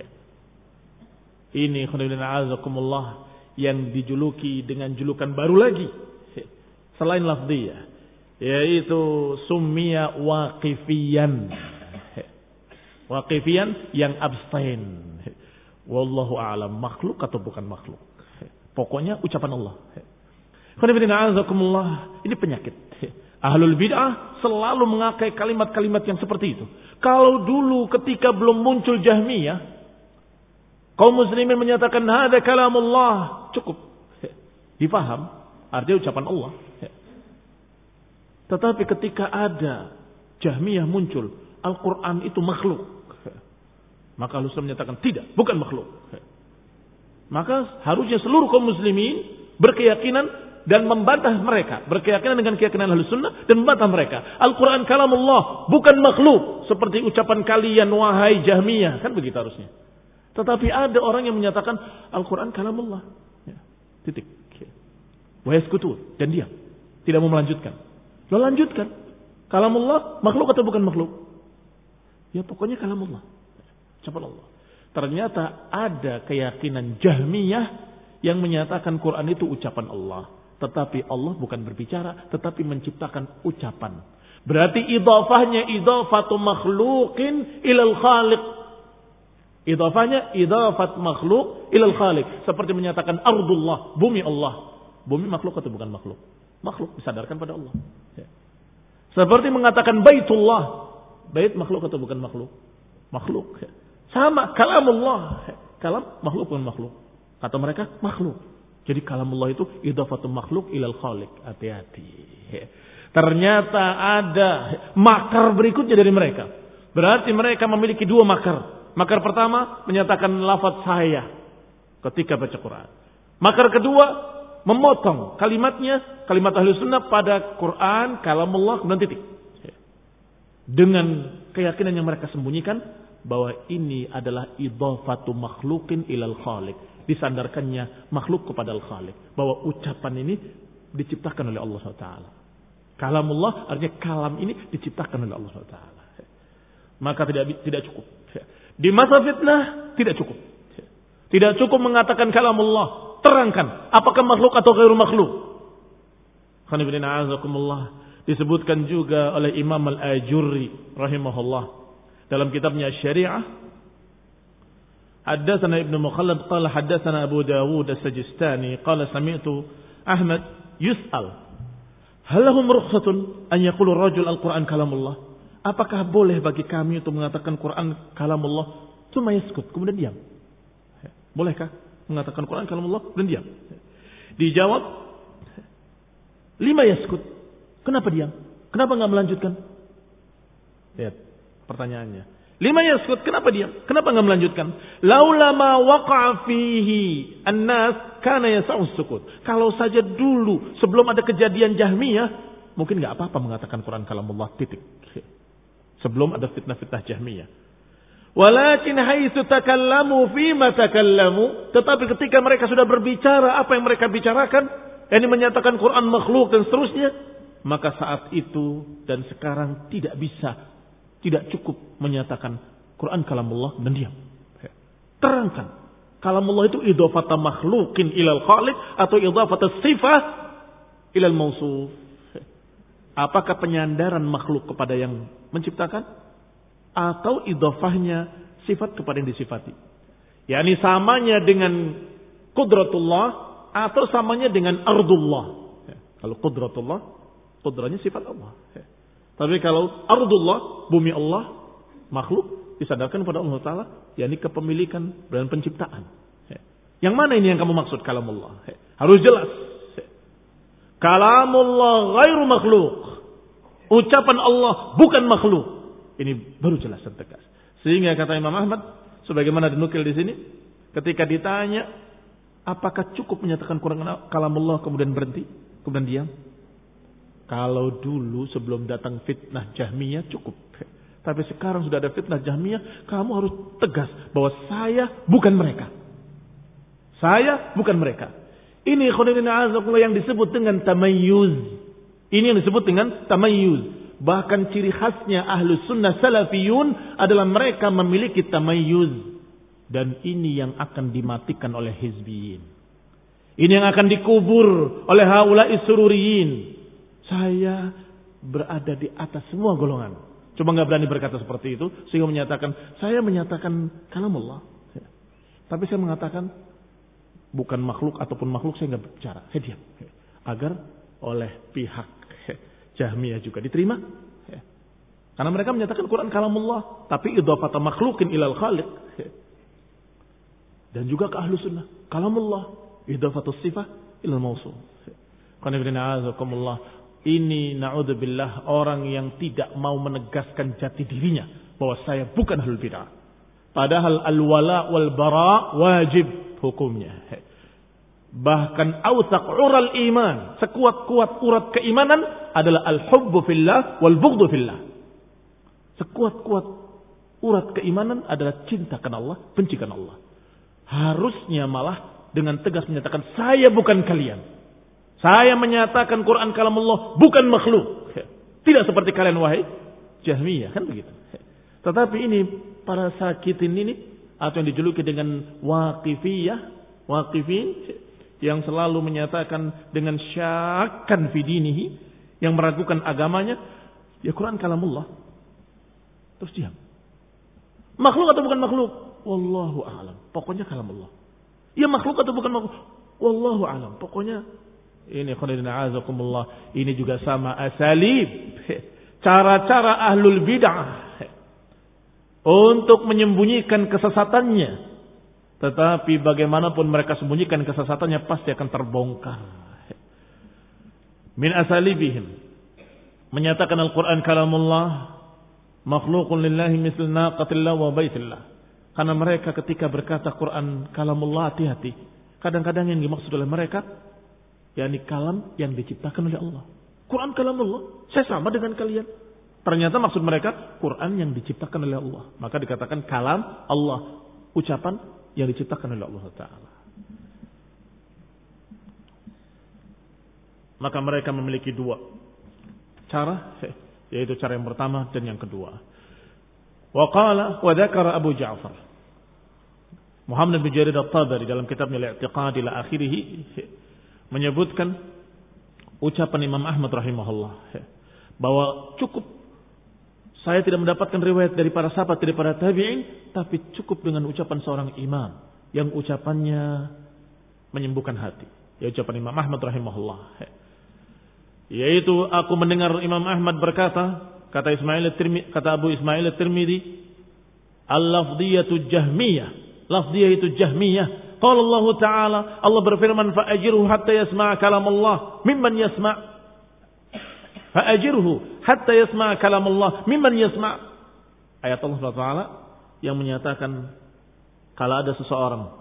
Ini khonibina azakumullah yang dijuluki dengan julukan baru lagi selain lafziyah, yaitu summiya waqifiyan. Waqifiyan yang abstain. Wallahu a'lam, makhluk atau bukan makhluk. Pokoknya ucapan Allah. Khonibina azakumullah, ini penyakit. Ahlul bid'ah selalu mengakai kalimat-kalimat yang seperti itu. Kalau dulu ketika belum muncul Jahmiyah, kaum muslimin menyatakan hada kalamullah, cukup. Dipaham, artinya ucapan Allah. Tetapi ketika ada Jahmiyah muncul, Al-Quran itu makhluk, maka Ahlus Sunnah menyatakan tidak, bukan makhluk. Maka harusnya seluruh kaum muslimin berkeyakinan dan membantah mereka, berkeyakinan dengan keyakinan Ahlus Sunnah dan membantah mereka. Al-Quran kalamullah, bukan makhluk seperti ucapan kalian wahai Jahmiyah, kan begitu harusnya. Tetapi ada orang yang menyatakan Al-Quran kalamullah, ya, titik. Wa yaskutun, dan diam, tidak mau melanjutkan. Lo lanjutkan, kalamullah makhluk atau bukan makhluk? Ya pokoknya kalamullah, ucapan Allah. Ternyata ada keyakinan Jahmiyah yang menyatakan Quran itu ucapan Allah. Tetapi Allah bukan berbicara, tetapi menciptakan ucapan. Berarti idhafahnya idhafatu makhluqin ilal khaliq. Idhafahnya idhafat makhluk ilal khaliq. Seperti menyatakan ardullah, bumi Allah. Bumi makhluk atau bukan makhluk? Makhluk, disadarkan pada Allah. Ya. Seperti mengatakan baitullah. Bait makhluk atau bukan makhluk? Makhluk. Ya. Sama, kalamullah. Ya. Kalam makhluk bukan makhluk. Kata mereka makhluk. Jadi kalamullah itu idhafatu makhluk ilal khaliq. Hati-hati. Ya. Ternyata ada makar berikutnya dari mereka. Berarti mereka memiliki dua makar. Makar pertama menyatakan lafaz saya ketika baca Quran. Makar kedua memotong kalimatnya, kalimat Ahlus Sunnah pada Quran, kalamullah, kemudian titik. Dengan keyakinan yang mereka sembunyikan bahwa ini adalah idhafatu makhlukin ilal khaliq. Disandarkannya makhluk kepada al-khaliq. Bahwa ucapan ini diciptakan oleh Allah subhanahu wa taala. Kalamullah artinya kalam ini diciptakan oleh Allah subhanahu wa taala. Maka tidak tidak cukup. Di masa fitnah tidak cukup. Tidak cukup mengatakan kalamullah. Terangkan apakah makhluk atau ghairu makhluk. Khanibina azakumullah. Disebutkan juga oleh Imam Al-Ajurri rahimahullah dalam kitabnya Syariah. Haddatsana Ibnu Mukhallad qala haddatsana Abu Dawud As-Sajistani qala sami'tu Ahmad yus'al hal lahum rukhsatun an yaqulu ar-rajul al-Qur'an kalamullah? Apakah boleh bagi kami untuk mengatakan Quran kalamullah? Cuma yaskut, kemudian diam. Bolehkah mengatakan Quran kalamullah dan diam? Dijawab, lima yaskut. Kenapa diam? Kenapa enggak melanjutkan? Lihat pertanyaannya. Lima yaskut, kenapa diam? Kenapa enggak melanjutkan? Laula ma waqa'a fihi an-nas kana yas'u sukut. Kalau saja dulu sebelum ada kejadian Jahmiyah, mungkin enggak apa-apa mengatakan Quran kalamullah, titik. Sebelum ada fitnah-fitnah Jahmiyah. Walakin haitsu takallamu fima takallamu, tetapi ketika mereka sudah berbicara apa yang mereka bicarakan, yakni menyatakan Quran makhluk dan seterusnya, maka saat itu dan sekarang tidak bisa, tidak cukup menyatakan Quran kalamullah dan diam. Terangkan, kalamullah itu idhafata makhlukin ilal khaliq atau idhafata sifah ilal mausuf. Apakah penyandaran makhluk kepada yang menciptakan atau idhafahnya sifat kepada yang disifati? yakni samanya dengan qudratullah atau samanya dengan ardullah. Ya. Kalau qudratullah, qudranya sifat Allah. Ya. Tapi kalau ardullah, bumi Allah, makhluk, disadarkan pada Allah Ta'ala, yakni kepemilikan dan penciptaan. Ya. Yang mana ini yang kamu maksud kalamullah? Ya. Harus jelas. Ya. Kalamullah ghairu makhluk. Ucapan Allah bukan makhluk. Ini baru jelas dan tegas. Sehingga kata Imam Ahmad, sebagaimana dinukil di sini, ketika ditanya, apakah cukup menyatakan Quran kalamullah kemudian berhenti, kemudian diam? Kalau dulu sebelum datang fitnah Jahmiyah cukup. Tapi sekarang sudah ada fitnah Jahmiyah, kamu harus tegas bahwa saya bukan mereka. Saya bukan mereka. Ini khonirina azakullah yang disebut dengan tamayyuz. Ini yang disebut dengan tamayyuz. Bahkan ciri khasnya ahlus sunnah salafiyun adalah mereka memiliki tamayyuz. Dan ini yang akan dimatikan oleh hizbiyin. Ini yang akan dikubur oleh haula'i sururiyin. Saya berada di atas semua golongan. Cuma nggak berani berkata seperti itu. Sehingga menyatakan, saya menyatakan kalamullah. Tapi saya mengatakan, bukan makhluk ataupun makhluk saya nggak bicara. Saya diam. Agar oleh pihak Jahmiyah juga diterima. Karena mereka menyatakan Quran kalamullah. Tapi idhafata makhlukin ilal khaliq. Dan juga ke ahlu sunnah. Kalamullah. Idhafatus sifah ilal mausul. Ini na'udzubillah orang yang tidak mau menegaskan jati dirinya. Bahwa saya bukan ahlul bid'ah. Padahal al-wala wal bara wajib hukumnya. Bahkan awsaq ural iman. Sekuat-kuat urat keimanan adalah al-hubbu fillah wal bughdhu fillah. Sekuat-kuat urat keimanan adalah cinta karena Allah, benci karena Allah. Harusnya malah dengan tegas menyatakan saya bukan kalian. Saya menyatakan Quran kalamullah bukan makhluk. Tidak seperti kalian wahai Jahmiyah, kan begitu. Tetapi ini para sakitin ini atau yang dijuluki dengan waqifiyah, waqifin yang selalu menyatakan dengan syakkan fi dinihi, yang meragukan agamanya, ya Quran kalamullah. Terus diam. Makhluk atau bukan makhluk? Wallahu a'lam. Pokoknya kalamullah. Ya makhluk atau bukan makhluk? Wallahu a'lam. Pokoknya ini khonirina azakumullah. Ini juga sama asalib. Cara-cara ahlul bid'ah untuk menyembunyikan kesesatannya. Tetapi bagaimanapun mereka sembunyikan kesesatannya pasti akan terbongkar. Min asalibihim. Menyatakan Al-Quran kalamullah. Makhlukun lillahi misl naqatillah wa baitillah. Karena mereka ketika berkata Quran kalamullah, hati-hati. Kadang-kadang yang dimaksud oleh mereka, yakni kalam yang diciptakan oleh Allah. Quran kalamullah, saya sama dengan kalian. Ternyata maksud mereka Quran yang diciptakan oleh Allah. Maka dikatakan kalam Allah, ucapan yang diciptakan oleh Allah Ta'ala. Maka mereka memiliki dua cara, yaitu cara yang pertama dan yang kedua. Wa qala wa dzakara Abu Ja'far Muhammad bin Jarir At-Tabari dalam kitabnya Al-I'tiqad ila akhirih menyebutkan ucapan Imam Ahmad rahimahullah bahwa cukup saya tidak mendapatkan riwayat dari para sahabat, dari para tabi'in, tapi cukup dengan ucapan seorang imam yang ucapannya menyembuhkan hati. Ya ucapan Imam Ahmad rahimahullah. Yaitu aku mendengar Imam Ahmad berkata, kata Ismail At-Tirmidzi, kata Abu Ismail At-Tirmidzi, al-lafdhiyatu jahmiyah. Lafdhiyah itu jahmiyah. Qala Allah Ta'ala, Allah berfirman, fa'ajirhu hatta yasma'a kalam Allah mimman yasma' Fa'ajirhu hatta yasma' kalam Allah mimman yasma'. Ayat Allah subhanahu wa taala yang menyatakan kalau ada seseorang,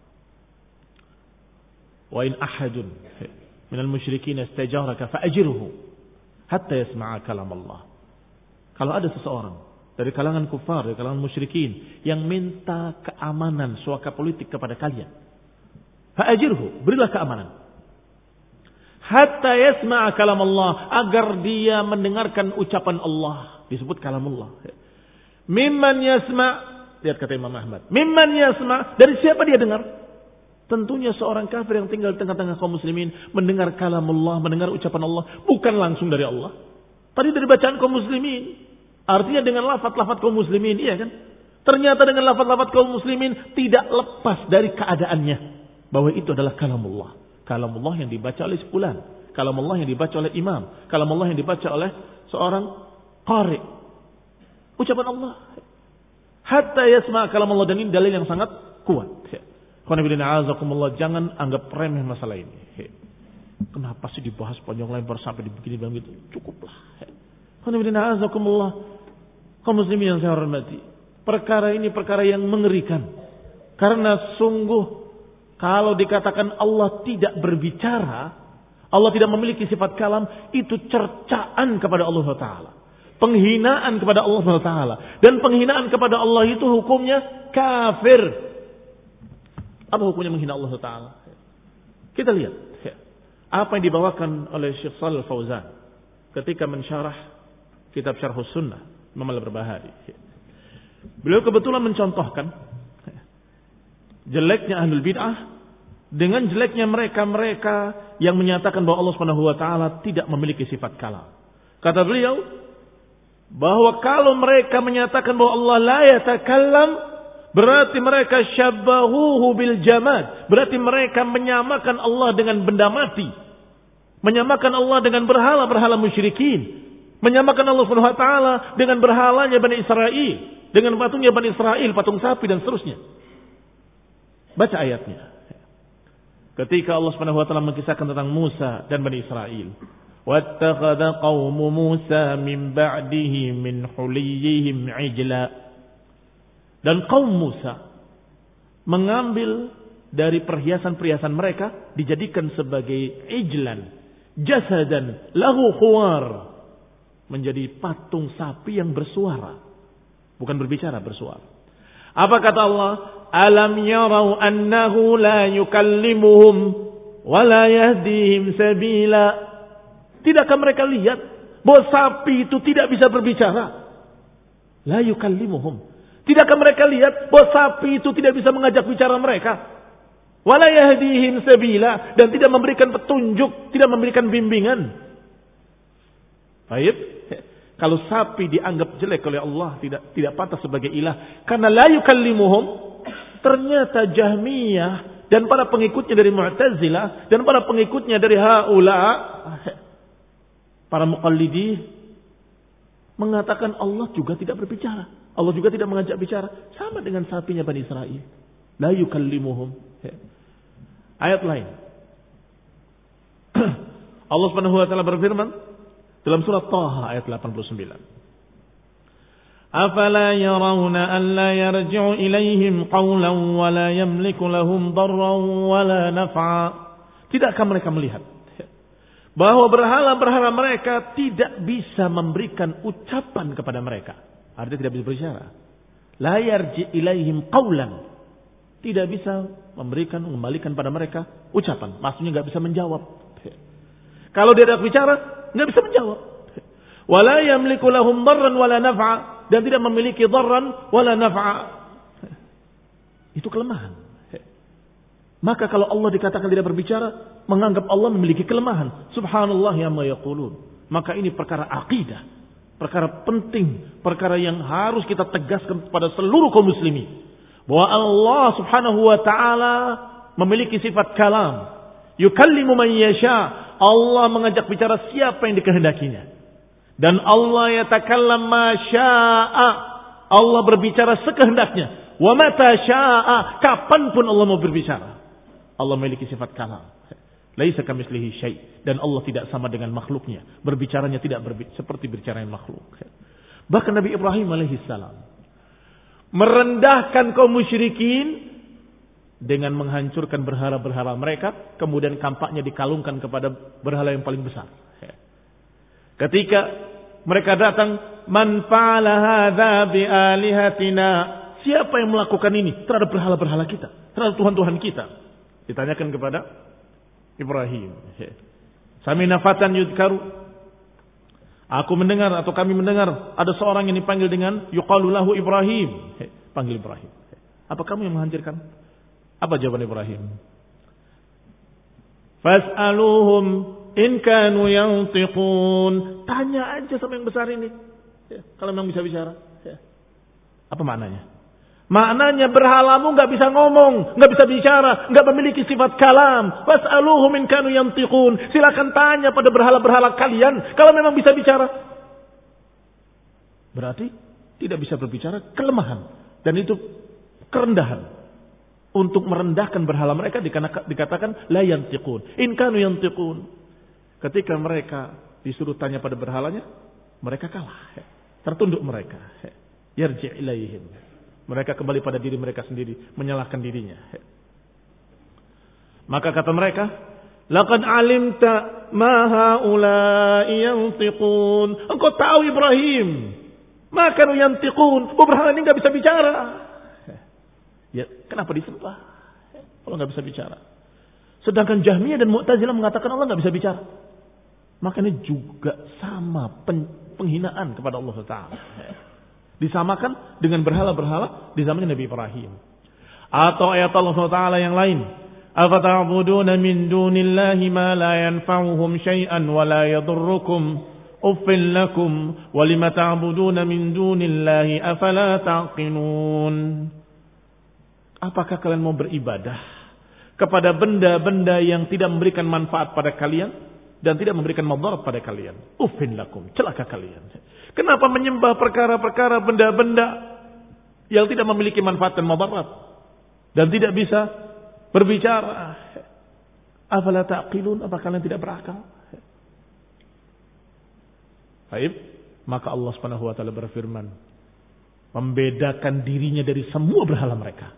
wa in ahadun minal musyrikin istajaraka fa'ajirhu hatta yasma'a kalam Allah. Kalau ada seseorang dari kalangan kufar, dari kalangan musyrikin yang minta keamanan suaka politik kepada kalian, fa'ajirhu, berilah keamanan. Hatta yasma'a kalam Allah, agar dia mendengarkan ucapan Allah. Disebut kalamullah. Mimman yasma', lihat kata Imam Ahmad. Mimman yasma', dari siapa dia dengar? Tentunya seorang kafir yang tinggal di tengah-tengah kaum muslimin mendengar kalamullah, mendengar ucapan Allah, bukan langsung dari Allah. Tadi dari bacaan kaum muslimin. Artinya dengan lafaz-lafaz kaum muslimin, iya kan? Ternyata dengan lafaz-lafaz kaum muslimin tidak lepas dari keadaannya bahwa itu adalah kalamullah. Kalam Allah yang dibaca oleh sepulan, kalam Allah yang dibaca oleh imam, kalam Allah yang dibaca oleh seorang qari. Ucapan Allah. Hatta yasma' kalam Allah, dan ini dalil yang sangat kuat. Jangan anggap remeh masalah ini. Kenapa sih dibahas panjang lebar sampai begini dan gitu? Cukuplah. Kaum muslimin yang saya hormati, perkara ini perkara yang mengerikan. Karena sungguh kalau dikatakan Allah tidak berbicara, Allah tidak memiliki sifat kalam, itu cercaan kepada Allah Taala, penghinaan kepada Allah Taala, dan penghinaan kepada Allah itu hukumnya kafir. Apa hukumnya menghina Allah Taala? Kita lihat apa yang dibawakan oleh Syekh Shalih Fauzan ketika mensyarah kitab Syarhus Sunnah Imam Al-Barbahari. Beliau kebetulan mencontohkan jeleknya ahlul bid'ah dengan jeleknya mereka-mereka yang menyatakan bahwa Allah Subhanahu wa taala tidak memiliki sifat kalam. Kata beliau bahwa kalau mereka menyatakan bahwa Allah la yatakallam, berarti mereka syabbahuhu bil jamad, berarti mereka menyamakan Allah dengan benda mati, menyamakan Allah dengan berhala-berhala musyrikin, menyamakan Allah Subhanahu wa taala dengan berhalanya Bani Israel, dengan patungnya Bani Israel, patung sapi dan seterusnya. Baca ayatnya. Ketika Allah Subhanahu wa taala mengisahkan tentang Musa dan Bani Israel, wattakhadha qaumu Musa min ba'dihi min huliyihim ijla. Dan kaum Musa mengambil dari perhiasan-perhiasan mereka dijadikan sebagai ijlan, jasadan lahu khuwar, menjadi patung sapi yang bersuara, bukan berbicara, bersuara. Apa kata Allah? Alam yarau annahu la yukallimuhum wa la yahdihim sabila. Tidakkah mereka lihat bahwa sapi itu tidak bisa berbicara? La yukallimuhum. Tidakkah mereka lihat bahwa sapi itu tidak bisa mengajak bicara mereka? Wa la yahdihim sabila, dan tidak memberikan petunjuk, tidak memberikan bimbingan. Baik, kalau sapi dianggap jelek oleh Allah, tidak tidak pantas sebagai ilah karena la yukallimuhum. Ternyata Jahmiyah dan para pengikutnya dari Mu'tazilah dan para pengikutnya dari haula, para muqallidi, mengatakan Allah juga tidak berbicara, Allah juga tidak mengajak bicara, sama dengan sapinya Bani Israel. La yukallimuhum. Ayat lain, Allah Subhanahu wa taala berfirman dalam surat Taha ayat delapan puluh sembilan. Afala yarawna an la yarji'u ilaihim qawlan wa la yamliku lahum darran wa la naf'a. Tidakkah mereka melihat bahwa berhala-berhala mereka tidak bisa memberikan ucapan kepada mereka? Artinya tidak bisa berbicara. La yarji' ilaihim qawlan, tidak bisa memberikan, mengembalikan pada mereka ucapan. Maksudnya enggak bisa menjawab. Kalau dia tidak bicara, enggak bisa menjawab. Wala yamliku lahum darran wala naf'a, dan tidak memiliki darran wala naf'a. Itu kelemahan. Maka kalau Allah dikatakan tidak berbicara, menganggap Allah memiliki kelemahan. Subhanallah ya ma yaqulun. Maka ini perkara akidah, perkara penting, perkara yang harus kita tegaskan kepada seluruh kaum muslimin, bahwa Allah Subhanahu wa taala memiliki sifat kalam. Yukallimu man yasha. Allah mengajak bicara siapa yang dikehendakinya. Dan Allah yatakallam ma syaa. Allah berbicara sekehendaknya. Wa mata syaa, kapanpun Allah mau berbicara. Allah memiliki sifat kalam. Laisa kamitslihi syai', dan Allah tidak sama dengan makhluknya. Berbicaranya tidak berbi- seperti berbicara makhluk. Bahkan Nabi Ibrahim alaihi salam merendahkan kaum musyrikin dengan menghancurkan berhala-berhala mereka, kemudian kampaknya dikalungkan kepada berhala yang paling besar. Ketika mereka datang, man fa'ala hadza bi alihatina, siapa yang melakukan ini terhadap berhala-berhala kita, terhadap tuhan-tuhan kita? Ditanyakan kepada Ibrahim. Samina fatan yudkaru, aku mendengar atau kami mendengar ada seorang yang dipanggil dengan yuqalu lahu Ibrahim. Panggil Ibrahim. Apa kamu yang menghancurkan? Apa jawaban Ibrahim? Fas'aluhum in kanu yantiqun. Tanya aja sama yang besar ini. Ya, kalau memang bisa bicara. Ya. Apa maknanya? Maknanya berhalamu nggak bisa ngomong, nggak bisa bicara, nggak memiliki sifat kalam. Fas'aluhum in kanu yantiqun. Silakan tanya pada berhala-berhala kalian kalau memang bisa bicara. Berarti tidak bisa berbicara, kelemahan, dan itu kerendahan. Untuk merendahkan berhala mereka dikatakan la yantiqun. In kanu yantiqun. Ketika mereka disuruh tanya pada berhalanya, mereka kalah. Tertunduk mereka. Yarji' ilaihim. Mereka kembali pada diri mereka sendiri, menyalahkan dirinya. Maka kata mereka, laqad alimta ma haula'i yantiqun. Engkau tahu Ibrahim, ma kanu yantiqun. Berhala ini enggak bisa bicara. Ya, kenapa disembah? Allah enggak bisa bicara. Sedangkan Jahmiyah dan Mu'tazilah mengatakan Allah enggak bisa bicara. Makanya juga sama penghinaan kepada Allah Taala. Disamakan dengan berhala-berhala di zamannya Nabi Ibrahim. Atau ayat Allah Taala yang lain, afata'buduna min dunillahi ma la yanfa'uhum syai'an wa la yadurrukum uffil lakum wa lima ta'buduna min dunillahi afala taqilun. Apakah kalian mau beribadah kepada benda-benda yang tidak memberikan manfaat pada kalian dan tidak memberikan madarat pada kalian? Uffin lakum, celaka kalian. Kenapa menyembah perkara-perkara benda-benda yang tidak memiliki manfaat dan madarat dan tidak bisa berbicara? Afala taqilun, apa kalian tidak berakal? Baik, maka Allah Subhanahu wa taala berfirman, membedakan dirinya dari semua berhala mereka.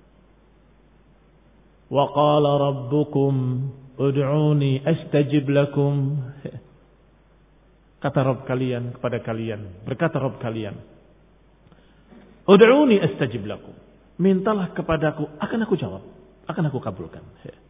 Wa qala rabbukum ud'uni astajib lakum. Kata Rabb kalian kepada kalian, berkata Rabb kalian, ud'uni astajib lakum. Mintalah kepadaku, akan aku jawab, akan aku kabulkan.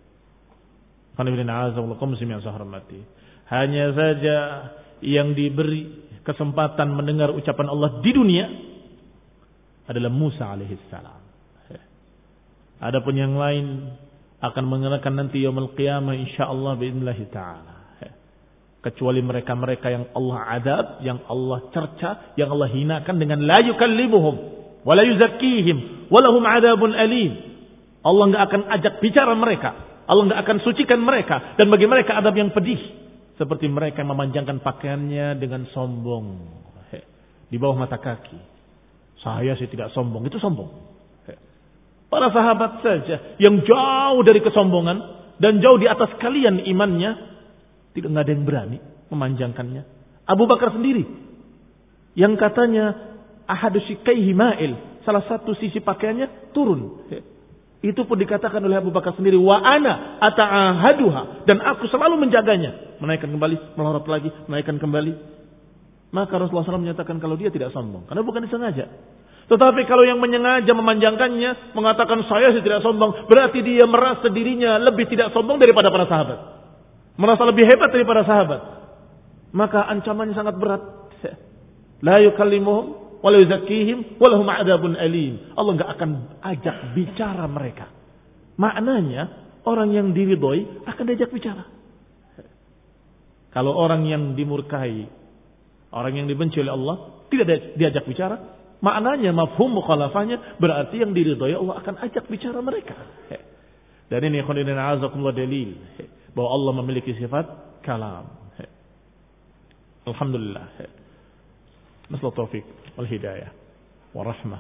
Hanya saja yang diberi kesempatan mendengar ucapan Allah di dunia adalah Musa alaihissalam. Adapun yang lain akan mengenakan nanti yaumul qiyamah insyaallah biidznillah taala. Kecuali mereka-mereka yang Allah adab, yang Allah cerca, yang Allah hinakan dengan la yukallimuhum wa la yuzakkihim wa lahum adabun alim. Allah enggak akan ajak bicara mereka, Allah enggak akan sucikan mereka, dan bagi mereka adab yang pedih, seperti mereka yang memanjangkan pakaiannya dengan sombong di bawah mata kaki. Saya sih tidak sombong, itu sombong. Para sahabat saja yang jauh dari kesombongan dan jauh di atas kalian imannya, tidak ada yang berani memanjangkannya. Abu Bakar sendiri yang katanya ahadu shikaihi ma'il, salah satu sisi pakaiannya turun. Itu pun dikatakan oleh Abu Bakar sendiri, wa ana ata'ahaduha, dan aku selalu menjaganya, menaikkan kembali, melorot lagi, menaikkan kembali. Maka Rasulullah shallallahu alaihi wasallam menyatakan kalau dia tidak sombong, karena bukan disengaja. Tetapi kalau yang menyengaja memanjangkannya, mengatakan saya sih tidak sombong, berarti dia merasa dirinya lebih tidak sombong daripada para sahabat, merasa lebih hebat daripada sahabat. Maka ancamannya sangat berat. La yukallimuhum wa la yuzakkihim wa lahum adzabun alim. Allah enggak akan ajak bicara mereka. Maknanya orang yang diridhoi akan diajak bicara. Kalau orang yang dimurkai, orang yang dibenci oleh Allah tidak diajak bicara, maknanya mafhum mukhalafahnya berarti yang diridhoi Allah akan ajak bicara mereka. Dan ini khonidin azakumullah dalil bahwa Allah memiliki sifat kalam. Alhamdulillah. Nasal taufik wal hidayah wa rahmah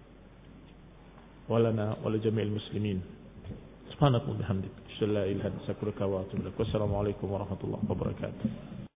walana wa jami'il muslimin. Subhanallahi wa bihamdihi, la ilaha illa anta astaghfiruka wa atubu ilaik. Wassalamu alaikum warahmatullahi wabarakatuh.